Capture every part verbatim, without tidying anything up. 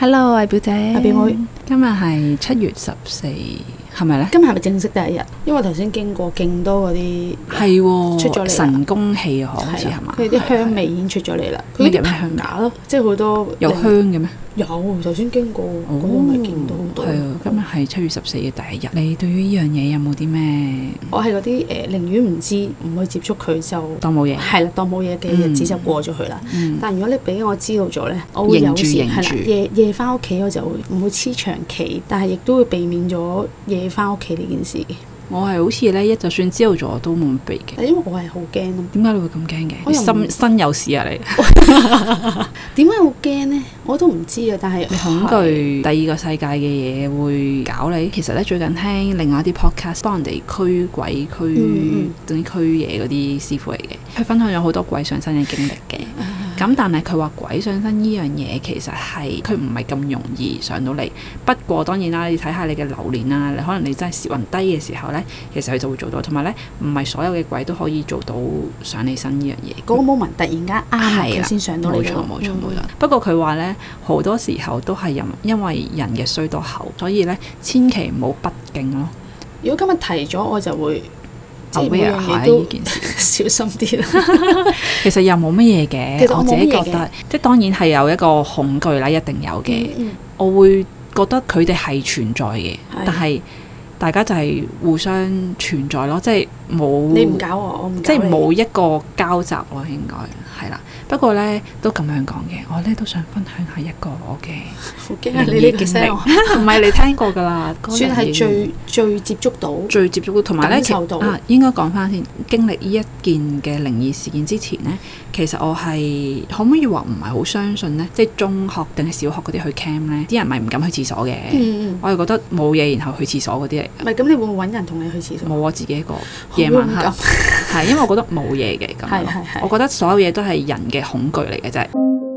Hello，我係表姐， 阿表妹。 今日係七月十四，係咪咧？ 今日係咪正式第一日？因為我頭先經過勁多嗰啲係出咗嚟神功氣啊，好似係嘛？ 佢啲香味已經出咗嚟啦。 佢啲香架咯，即係好多有香嘅咩？ 有，頭先經過嗰度咪見到好多。 係啊，今日係七月十四嘅第一日。你對於呢樣嘢有冇啲咩？ 我係嗰啲誒，寧願唔知，唔去接觸佢就當冇嘢。 係啦，當冇嘢嘅日子就過咗去啦。 嗯、 但如果你俾我知道咗咧，我會有時係啦，夜夜翻屋企我就會唔會黐長期，但係亦都會避免咗夜翻屋企呢件事嘅。 我係好似咧，一就算知道咗都冇避嘅。 因為我係好驚咯。點解你會咁驚嘅？你心身有事啊你？ 點解好驚呢？我都唔知啊。但係你恐懼第二個世界嘅嘢會搞你。其實咧最近聽另外一啲 podcast 幫人哋驅鬼驅嗰啲驅嘢嗰啲師傅嚟嘅，佢分享咗好多鬼上身嘅經歷嘅。咁但係佢話鬼上身呢樣嘢其實係佢唔係咁容易上到嚟。不過當然啦，你睇下你嘅流年啦，你可能你真係時運低嘅時候咧，其實佢就會做到。同埋咧，唔係所有嘅鬼都可以做到上你身呢樣嘢。嗰個 moment 突然間啱佢先上到嚟。冇錯冇錯冇錯。不過佢話咧，好多時候都係因因為人嘅衰多口，所以咧千祈唔好不敬咯。如果今日提咗，我就會。aware 下呢件事，小心啲啦。其實又冇乜嘢嘅，我自己覺得，即係當然係有一個恐懼啦，一定有嘅。嗯嗯、我會覺得佢哋係存在嘅，的但係大家就係互相存在咯，即係冇你唔搞我，我唔搞你，即係冇一個交集咯，應該係啦。不過咧都咁樣講嘅，我咧都想分享下一個我嘅好驚啊！你呢個聲唔係你聽過㗎啦，算係最最接觸到、最接觸到，同埋咧啊，應該講翻先，經歷呢一件嘅靈異事件之前咧，其實我係可唔可以話唔係好相信咧？即係中學定係小學嗰啲去 camp 咧，啲人咪唔敢去廁所嘅。嗯嗯，我係覺得冇嘢，然後去廁所嗰啲嚟。唔係咁，你會唔會揾人同你去廁所？冇，我自己一個夜晚黑係，因為我覺得冇嘢嘅咁。係係係，我覺得所有嘢都係人嘅恐懼嚟嘅啫。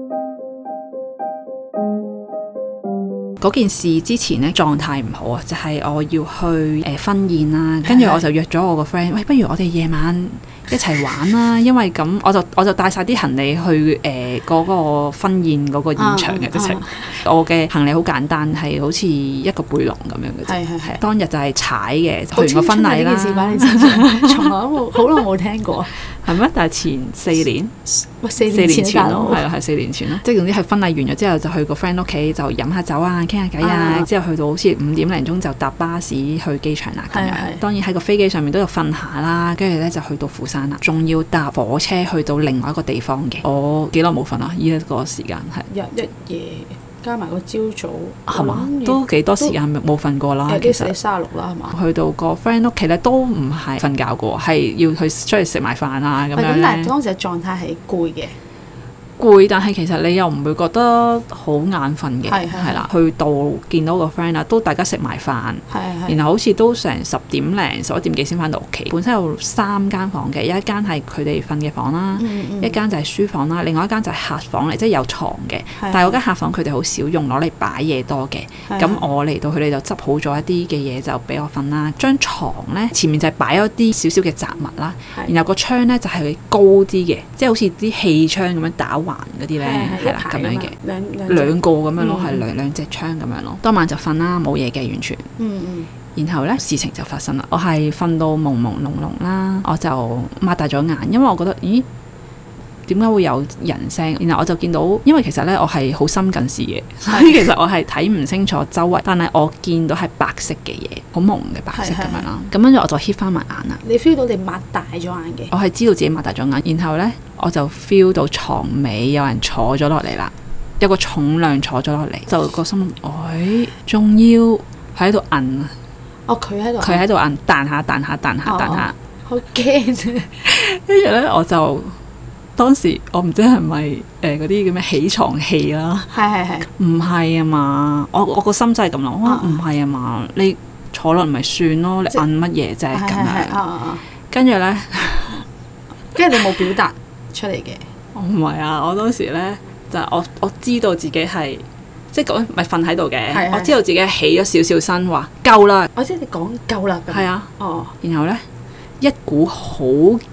嗰件事之前咧狀態唔好啊，就係、是、我要去誒、呃、婚宴啦，跟住我就約咗我個 friend，喂，不如我哋夜晚一齊玩啦，因為咁我就我就帶晒啲行李去誒嗰、呃那個婚宴嗰個現場嘅，直情、啊啊、我嘅行李好簡單，係好似一個背囊咁樣嘅啫。係係係。當日就係踩嘅，去完個婚禮啦。呢件事擺你身上，從來都冇好耐冇聽過。係咩？但係前四年，喂四年前咯，係啦係四年前咯。即係總之係婚禮完咗之後，就去個 friend 屋企就飲下酒啊，傾下偈啊。之後去到好似五點零鐘就搭巴士去機場啦。咁樣當然喺個飛機上面都有瞓下啦，跟住咧就去到釜山啦，仲要搭火車去到另外一個地方嘅。我幾耐冇瞓啊？呢一個時間係日一夜。加埋個朝早係嘛，都幾多時間冇瞓過啦。其實三十六啦，係嘛？去到個 friend 屋企咧，都唔係瞓覺過，係要去出去食埋飯啊咁樣咧。咁但係當時嘅狀態係攰嘅。攰，但係其實你又唔會覺得好眼瞓嘅，係啦。去到見到個 friend 啊，都大家食埋飯，然後好似都成十點零十一點幾先翻到屋企。本身有三間房嘅，有一間係佢哋瞓嘅房啦，嗯嗯、一間就係書房啦，另外一間就係客房嚟，即係有床嘅。但係嗰間客房佢哋好少用，攞嚟擺嘢多嘅。咁我嚟到佢哋就執好咗一啲嘅嘢就俾我瞓啦。張床咧前面就係擺咗啲少少嘅雜物啦，然後個窗咧就係高啲嘅，即係好似啲氣窗咁樣打橫嗰啲咧，係啦咁樣嘅，兩兩個咁樣咯，係兩兩隻窗咁樣咯。當晚就瞓啦，冇嘢嘅完全。嗯嗯。然後咧事情就發生啦，我係瞓到朦朦朧朧啦，我就擘大咗眼，因為我覺得咦點解會有人聲？然後我就見到，因為其實咧我係好深近視嘅，所以其實我係睇唔清楚周圍，但係我見到係白色嘅嘢，好朦嘅白色咁樣啦。咁跟住我就 hit 翻埋眼啦。你 feel 到你擘大咗眼嘅？我係知道自己擘大咗眼，然後咧我就 feel 到床尾有人坐咗落嚟啦，有個重量坐咗落嚟，就個心諗，哎，仲要喺度摁啊！哦，佢喺度，佢喺度摁，彈下彈下彈下彈下，好驚啊！跟住咧我就。當時我唔知係咪誒嗰啲叫咩起床氣啦，係係係，唔係啊嘛，我我個心真係咁諗，我話唔係啊嘛，你坐落咪算咯，你摁乜嘢啫咁樣，跟住咧，跟住你冇表達出嚟嘅，我唔係啊，我當時咧就係、我我知道自己係即係講咪瞓喺度嘅，我知道自己起咗少少身，話夠啦，我知你講夠啦，係啊，哦，然後咧一股好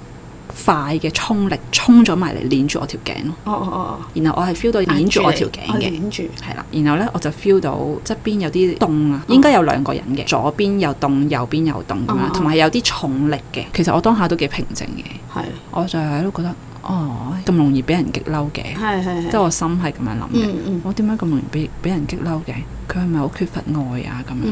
快嘅衝力衝咗埋嚟，捏住我條頸咯。 哦哦哦。 然後我係 feel 到捏住我條頸嘅， 捏住。係啦。然後咧我就 feel 到側邊有啲凍啊，應該有兩個人嘅，左邊又凍，右邊又凍咁樣，同埋有啲重力嘅。其實我當下都幾平靜嘅。係。我就係都覺得。哦，咁容易俾人激嬲嘅，即係我心係咁樣諗嘅。嗯嗯、我點解咁容易俾俾人激嬲嘅？佢係咪好缺乏愛啊？咁樣，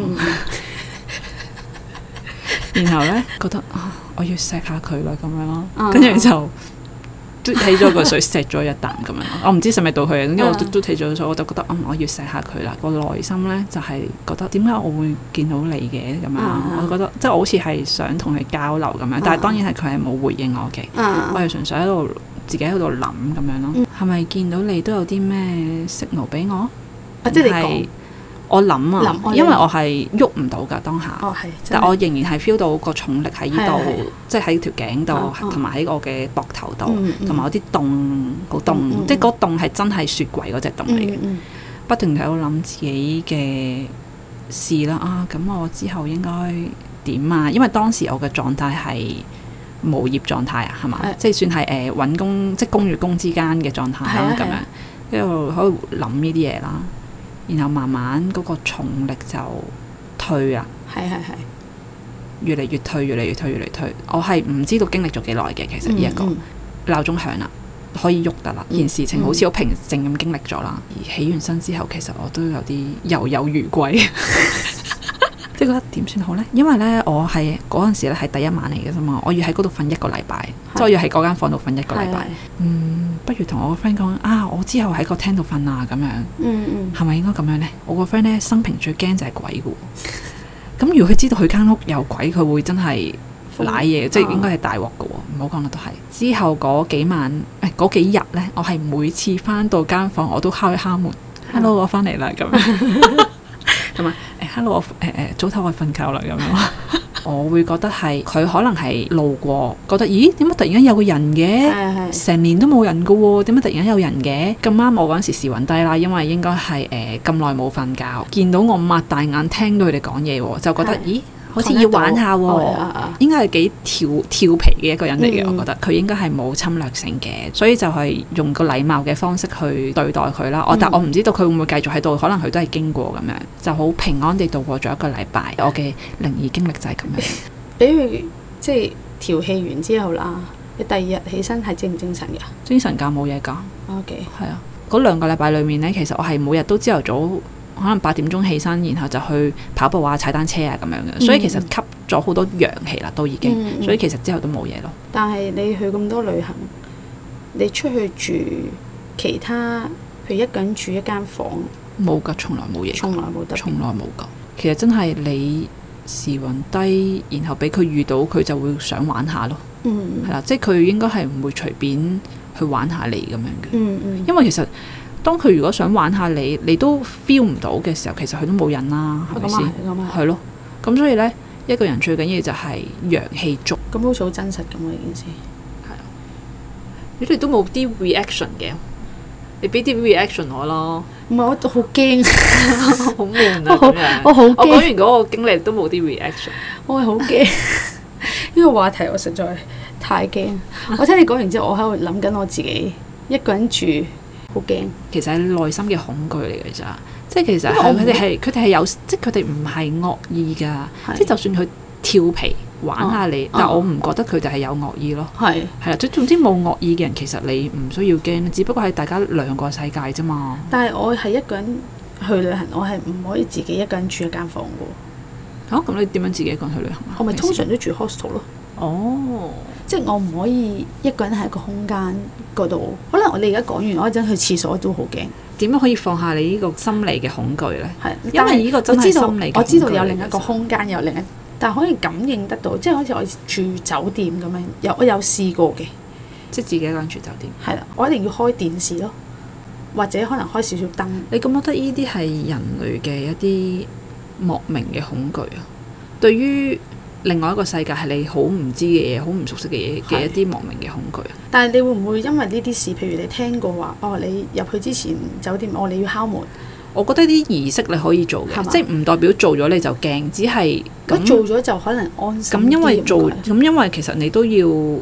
嗯、然後咧覺得啊，我要錫下佢啦，咁樣咯，跟住、嗯、就都起咗個水，錫咗一啖咁樣。我唔知係咪到佢，因為我都都起咗水，我就覺得嗯，我要錫下佢啦。個內心咧就係、是、覺得點解我會見到你嘅咁樣？嗯、我覺得即係我好似係想同佢交流咁樣，但係當然係佢係冇回應我嘅。嗯、我係純粹喺度自己喺度諗咁樣咯。係咪、嗯、見到你都有啲咩 signal 俾我？啊，即係你講。我諗啊，因為我係喐唔到㗎當下，哦、但我仍然係 feel 到個重力喺呢度，即係喺條頸度，同埋喺我嘅膊頭度，同埋、嗯、有啲凍，好凍，嗯、即係嗰凍係真係雪櫃嗰隻凍嚟嘅。嗯嗯、不斷喺度諗自己嘅事啦，啊，咁我之後應該點啊？因為當時我嘅狀態係無業狀態啊，係嘛？的即係算係誒揾工，即係工與工之間嘅狀態啦，咁樣一路喺度諗呢啲嘢啦。然後慢慢嗰個重力就退啦，係係係，越嚟越退，越嚟越退，越嚟越退。我係唔知道經歷咗幾耐嘅，其實呢一個鬧鐘響啦，可以喐得啦，件事情好似好平靜咁經歷咗啦。而起完身之後，其實我都有啲猶有餘悸，即係覺得點算好呢？因為呢，我係嗰陣時咧係第一晚嚟嘅啫嘛，我要喺嗰度瞓一個禮拜，即係我要喺嗰間房度瞓一個禮拜。嗯。不如同我個 friend 講啊，我之後喺個廳度瞓啊，咁樣，嗯嗯，係咪應該咁樣呢？我個 friend 咧生平最驚就係鬼嘅，咁如果佢知道佢間屋有鬼，佢會真係瀨嘢，嗯、即係應該係大鑊嘅喎。唔好講啦，都係之後嗰幾晚誒嗰幾日咧，我係每次翻到間房我都敲一敲門、嗯、，hello 我翻嚟啦咁樣，同埋誒 hello 我誒誒、呃、早唞我瞓覺啦咁樣。我會覺得係佢可能係路過，覺得咦點解突然間有個人嘅？成年都冇人㗎喎，點解突然間有人嘅？咁啱我嗰陣時時暈低啦，因為應該係誒咁耐冇瞓覺，見到我擘大眼聽到佢哋講嘢喎，就覺得咦好似要玩下喎，應該係幾調調皮嘅一個人嚟嘅，嗯、我覺得佢應該係冇侵略性嘅，所以就係用個禮貌嘅方式去對待佢啦。我、嗯、但我唔知道佢會唔會繼續喺度，可能佢都係經過咁樣，就好平安地度過咗一個禮拜。我嘅靈異經歷就係咁樣。俾佢即係調戲完之後啦，你第二日起身係精唔精神㗎？精神㗎，冇嘢㗎。OK，係啊，嗰兩個禮拜裡面呢，其實我係每日都朝頭早。可能八點鐘起身，然後就去跑步啊、踩單車啊咁樣嘅，嗯、所以其實吸咗好多陽氣啦，都已經，嗯、所以其實之後都冇嘢咯。但係你去咁多旅行，你出去住其他，譬如一個人住一間房，冇㗎，從來冇嘢，從來冇得，從來冇㗎。其實真係你時運低，然後俾佢遇到，佢就會想玩下咯。嗯，係啦，即係佢應該係唔會隨便去玩下你咁樣嘅。嗯嗯，因為其實。當佢如果想玩下你，你都 feel 唔到嘅時候，其實佢都冇癮啦，係咪先？係咯，咁所以呢，一個人最緊要就係陽氣足。咁好似好真實咁啊！呢件事係啊，你哋都冇啲 reaction 嘅，你俾啲 reaction 我咯。唔係，我都好驚，好悶啊！咁樣，我好驚。我講完嗰個經歷都冇啲 reaction，我係好驚。呢個話題我實在太驚。我聽你講完之後，我喺度諗緊我自己一個人住。好驚，其實係內心嘅恐懼嚟嘅咋，即係其實佢哋係佢哋係有，即係佢哋唔係惡意㗎，是即係就算佢調皮玩下你，哦、但我唔覺得佢哋係有惡意咯。係係啦，即總之冇惡意嘅人，其實你唔需要驚，只不過係大家兩個世界啫嘛。但係我係一個人去旅行，我係唔可以自己一個人住一間房㗎。嚇、啊，咁你點樣自己一個人去旅行啊？我咪通常都住 hostel 咯。哦，即係我唔可以一個人喺個空間嗰度。可能我哋而家講完，我一陣去廁所都好驚。點樣可以放下你呢個心理嘅恐懼咧？係，因為呢個真係心理嘅恐懼。我知道，我知道有另一個空間，有另一，但係可以感應得到，即係好似我住酒店咁樣，有我有試過嘅，即係自己一個人住酒店。係啦，我一定要開電視咯，或者可能開少少燈。你覺唔覺得呢啲係人類嘅一啲莫名嘅恐懼啊？對於另外一個世界係你好唔知嘅嘢，好唔熟悉嘅嘢嘅一啲莫名嘅恐懼。但係你會唔會因為呢啲事，譬如你聽過話，哦，你入去之前酒店，哦，你要敲門。我覺得啲儀式你可以做嘅，吧即係唔代表做咗你就驚，只係咁做咗就可能安心。咁因為做，咁因為其實你都要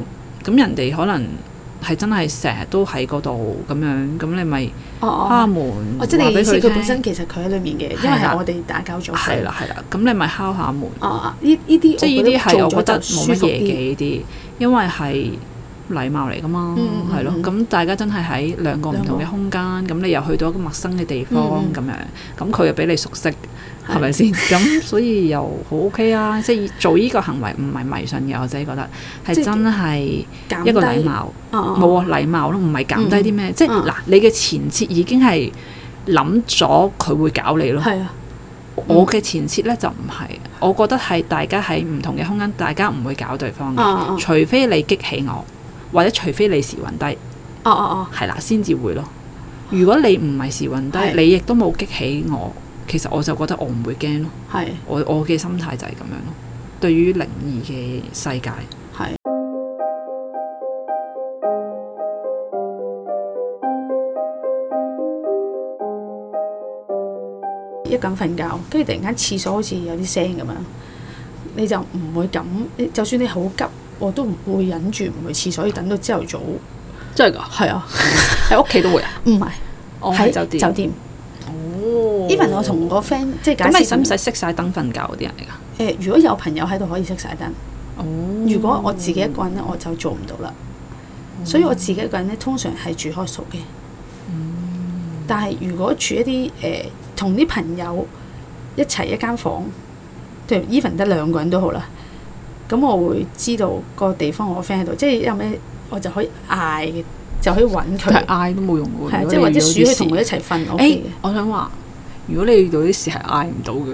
咁人哋可能係真係成日都喺嗰度咁樣，咁你咪敲下門， 哦，即係你意思佢本身其實佢喺裏面嘅，因為係我哋打攪咗。 係啦係啦，咁你咪敲下門。 哦，呢呢啲即係呢啲係我覺得冇乜嘢嘅呢啲，因為係禮貌嚟噶嘛，係咯。咁大家真係喺兩個唔同嘅空間，咁你又去到一個陌生嘅地方咁樣，咁佢又俾你熟悉。係咪先？咁所以又好 OK 啊！即係做呢個行為唔係迷信嘅，我自己覺得係真係一個禮貌，冇啊禮貌咯，唔係減低啲咩。即係嗱，你嘅前設已經係諗咗佢會搞你咯。係啊，我嘅前設咧就唔係，我覺得係大家喺唔同嘅空間，大家唔會搞對方嘅，除非你激起我，或者除非你時運低。哦哦哦，係啦，先至會咯。如果你唔係時運低，你亦都冇激起我。其實我就覺得我唔會驚咯，係我我嘅心態就係咁樣咯。對於靈異嘅世界，係一咁瞓覺，跟住突然間廁所好似有啲聲咁樣，你就唔會咁。就算你好急，我都唔會忍住唔去廁所，要等到朝頭早。 真係㗎？係啊，喺屋企都會啊？唔係，喺酒店。酒店。 even 我同個 friend 即係假設咁，你使唔使熄晒燈瞓覺嗰啲人嚟㗎？ 誒，如果有朋友喺度可以熄晒燈。哦。如果我自己一個人咧，我就做唔到啦。哦、所以我自己一個人咧，通常係住開宿嘅。嗯。但係如果住一啲誒同啲朋友一齊一間房，譬如 even 得兩個人都好啦，咁我會知道個地方我 friend 喺度，即係有咩我就可以嗌嘅，就可以揾佢。 但係嗌都冇用喎。係即係或者鼠去同佢一齊瞓 OK 嘅。 我想話。如果你遇到啲事係嗌唔到嘅，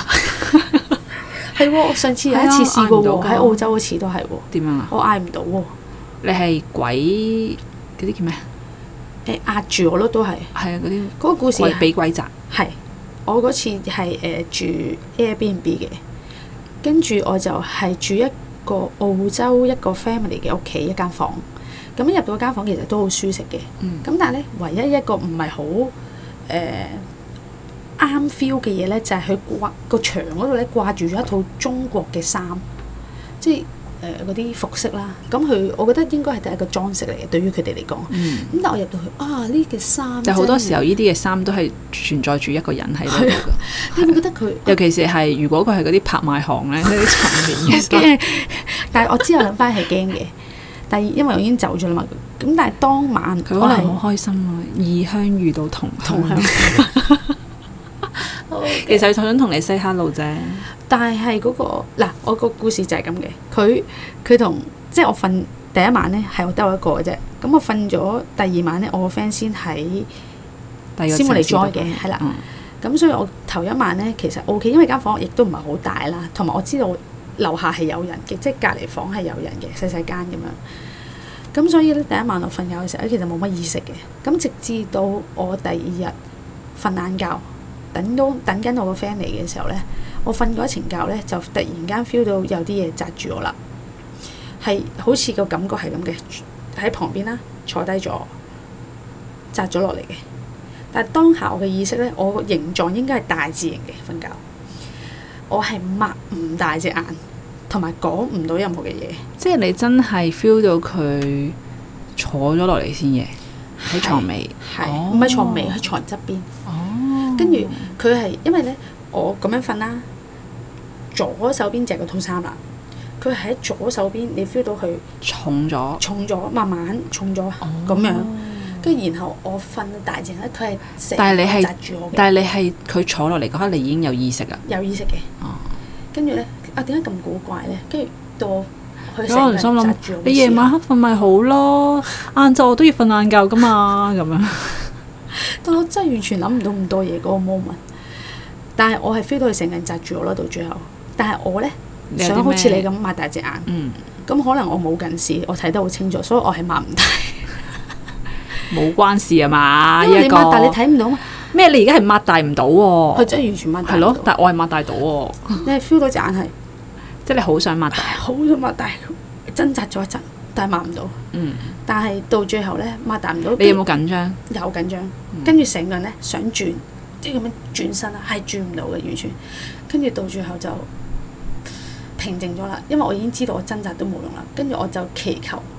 係喎，我上次有一次試過喎，喺澳洲嗰次都係喎。點樣啊？我嗌唔到喎。你係鬼嗰啲叫咩？ 誒壓住我咯，都係。係啊，嗰啲嗰個故事俾鬼責。係， 我嗰次係誒住 Airbnb 嘅，跟住我就係住一個澳洲一個 family 嘅屋企一間房。咁一入到間房其實都好舒適嘅。嗯。咁但係咧，唯一一個唔係好誒啱 feel 嘅嘢咧，就係佢掛個牆嗰度咧掛住咗一套中國嘅衫，即係誒嗰啲服飾啦。咁佢我覺得應該係第一個裝飾嚟嘅，對於佢哋嚟講。嗯。咁但係我入到去啊，呢件衫。但係好多時候呢啲嘅衫都係存在住一個人喺度㗎。你會覺得佢？尤其是係如果佢係嗰啲拍賣行咧，嗰啲陳年嘅。但係我之後諗翻係驚嘅，但係因為我已經走咗啦嘛。咁但係當晚佢可能好開心啊，異鄉遇到同同鄉。Okay. 其實佢想同你 say hello 啫，但係嗰、嗰個嗱，我個故事就係咁嘅。佢佢同即係我瞓第一晚咧，係我得我一個嘅啫。咁我瞓咗第二晚咧，我個 friend 先喺先會嚟 join 嘅，係啦。咁、嗯、所以我頭一晚咧其實 O K，因為間房亦都唔係好大啦，同埋我知道樓下係有人嘅，即係隔離房係有人嘅，細細間咁樣。咁所以咧第一晚我瞓覺嘅時候咧，其實冇乜意識嘅。咁直至到我第二日瞓晏覺。等到等緊我個 friend 嚟嘅時候咧，我瞓嗰一程覺咧，就突然間 feel 到有啲嘢擲住我啦，係好似個感覺係咁嘅，喺旁邊啦，坐低咗，擲咗落嚟嘅。但係當下我嘅意識咧，我個形狀應該係大字形嘅瞓覺，我係擘唔大隻眼，同埋講唔到任何嘅嘢。即係你真係 feel 到佢坐咗落嚟先嘅，喺床尾，係唔係床尾？喺床側邊。跟住佢係因為咧，我咁樣瞓啦，左手邊就係個套衫啦。佢喺左手邊，你 feel 到佢重咗，重咗，慢慢重咗咁、哦、樣。跟住然後我瞓到大隻咧，佢係成日紮住我嘅。但係你係佢坐落嚟嗰刻，你已經有意識啦。有意識嘅。哦。跟住咧，啊點解咁古怪咧？跟住到佢成日紮住我。你夜晚黑瞓咪好咯，晏晝我都要瞓晏覺噶嘛，咁樣。但我真係完全諗唔到咁多嘢嗰個 moment，但係我係 feel 到佢成個人紮住我啦，到最後。但係我咧想好似你咁擘大隻眼，咁、嗯、可能我冇近視，我睇得好清楚，所以我係擘唔大。冇關事啊嘛，因為你擘大你睇唔到嘛。咩？你而家係擘大唔到喎？佢真係完全擘大。係咯，但係我係擘大到喎。你係 feel 到隻眼係，即係你好想擘大，好想擘大，掙扎咗一陣。但係擘唔到，嗯、但係到最後咧擘大唔到。你有冇緊張？有緊張，跟住成個人咧想轉，即係咁樣轉身啦，係轉唔到嘅完全。跟住到最後就平靜咗啦，因為我已經知道我掙扎都冇用啦。跟住我就祈求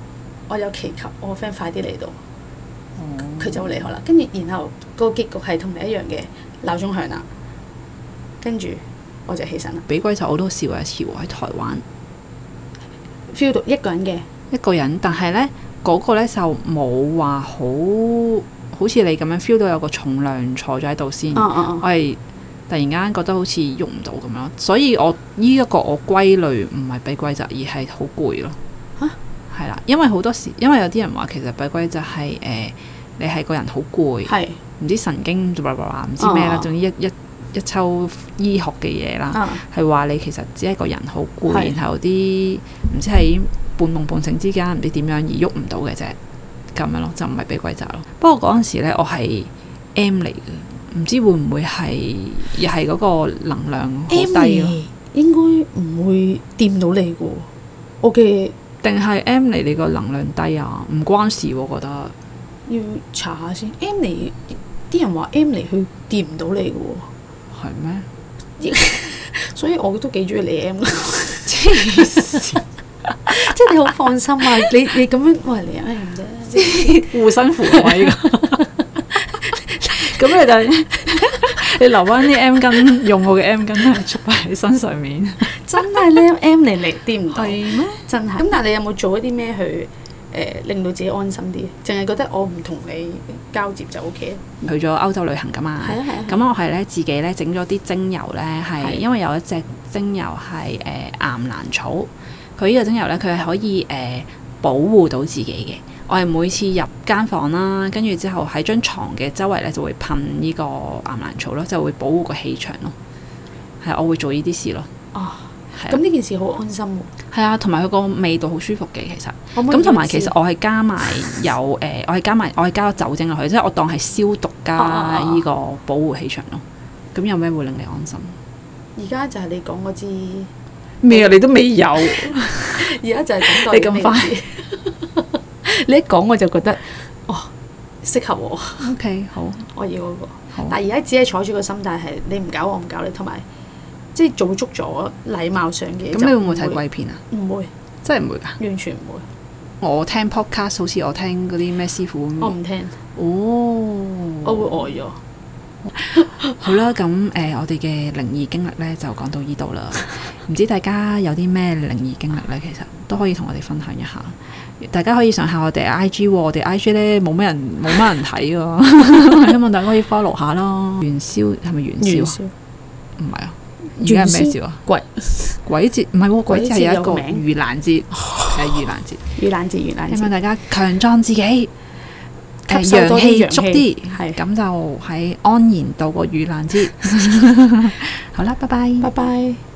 我有祈求我個 friend 快啲嚟到，佢、嗯、就會離開啦。跟住然後個結局係同你一樣嘅，鬧鐘響啦，跟住我就起身啦。 俾鬼就我都試過一次喎，喺台灣 feel 到一個人嘅一個人，但係咧嗰個咧就冇話好好似你咁樣 feel 到有個重量坐咗喺度先， 嗯嗯嗯我係突然間覺得好似喐唔到咁樣，所以我呢一個我歸類唔係俾鬼責，而係好攰咯。嚇，係啦，因為好多時，因為有啲人話其實俾鬼責係誒你係個人好攰，係唔知神經唔知咩啦，總之一一一抽醫學嘅嘢啦，係話、uh. 你其實只係個人好攰，然後啲唔知喺半夢半醒之間唔知點樣而喐唔到嘅啫，咁樣咯，就唔係俾鬼責咯。不過嗰陣時咧，我係 M 嚟嘅，唔知會唔會係又係嗰個能量好低咯？ 應該唔會掂到你嘅，我嘅定係 M 嚟你個能量低啊？唔關事，我覺得要查下先。M 嚟啲人話 M 嚟佢掂唔到你嘅喎。 係咩？ 所以我都幾中意你 M 啦，黐線！即係你好放心啊！你你咁樣喂你 M 啫， 護身符位㗎。咁你就你留翻啲 M 巾，用我嘅 M 巾咧，出喺你身上面。 真係咧 M 嚟嚟掂唔到， 係咩？ 真係。咁但係你有冇做一啲咩去？誒、呃、令到自己安心啲，淨係覺得我唔同你交接就 O K。 去咗歐洲旅行㗎嘛，係啊係啊。咁我係咧自己咧整咗啲精油咧，係因為有一隻精油係誒、呃、岩蘭草，佢呢個精油咧佢係可以誒、呃、保護到自己嘅。我係每次入間房啦，跟住之後喺張床嘅周圍咧就會噴呢個岩蘭草咯，就會保護個氣場咯。係，我會做呢啲事咯。哦。 咁呢件事好安心喎。 係啊，同埋佢個味道好舒服嘅，其實。咁同埋其實我係加埋有誒、呃，我係加埋我係加咗酒精落去，即係我當係消毒加呢個保護氣場咯。咁、啊、有咩會令你安心？ 而家就係你講嗰支咩啊？你都未有。 而家就係等待你咁快。 你一講我就覺得，哦，適合我。 O、okay, K， 好， 我要嗰、那個。 好但係而家只係採取個心態係，你唔搞我唔搞你，同埋。即係做足咗禮貌上嘅嘢。咁你會唔會睇鬼片啊？唔會， 真係唔會㗎。 完全唔會。 我聽 podcast 好似我聽嗰啲咩師傅咁。 我唔聽。 哦。 我會呆咗。 好啦，咁誒、呃，我哋嘅靈異經歷咧就講到呢度啦。唔知大家有啲咩靈異經歷咧，其實都可以同我哋分享一下。大家可以上下我哋 I G 喎，我哋 I G 咧冇咩人冇乜人睇㗎，希望大家可以 follow 下啦。元宵係咪元宵？元宵。唔係啊。而家係咩節啊？鬼鬼節唔係喎，鬼節係有一個盂蘭節，係盂蘭節。盂蘭節，盂蘭節。希望大家強壯自己，誒陽氣足啲，係咁就喺安然度過盂蘭節。好啦，拜拜， 拜拜。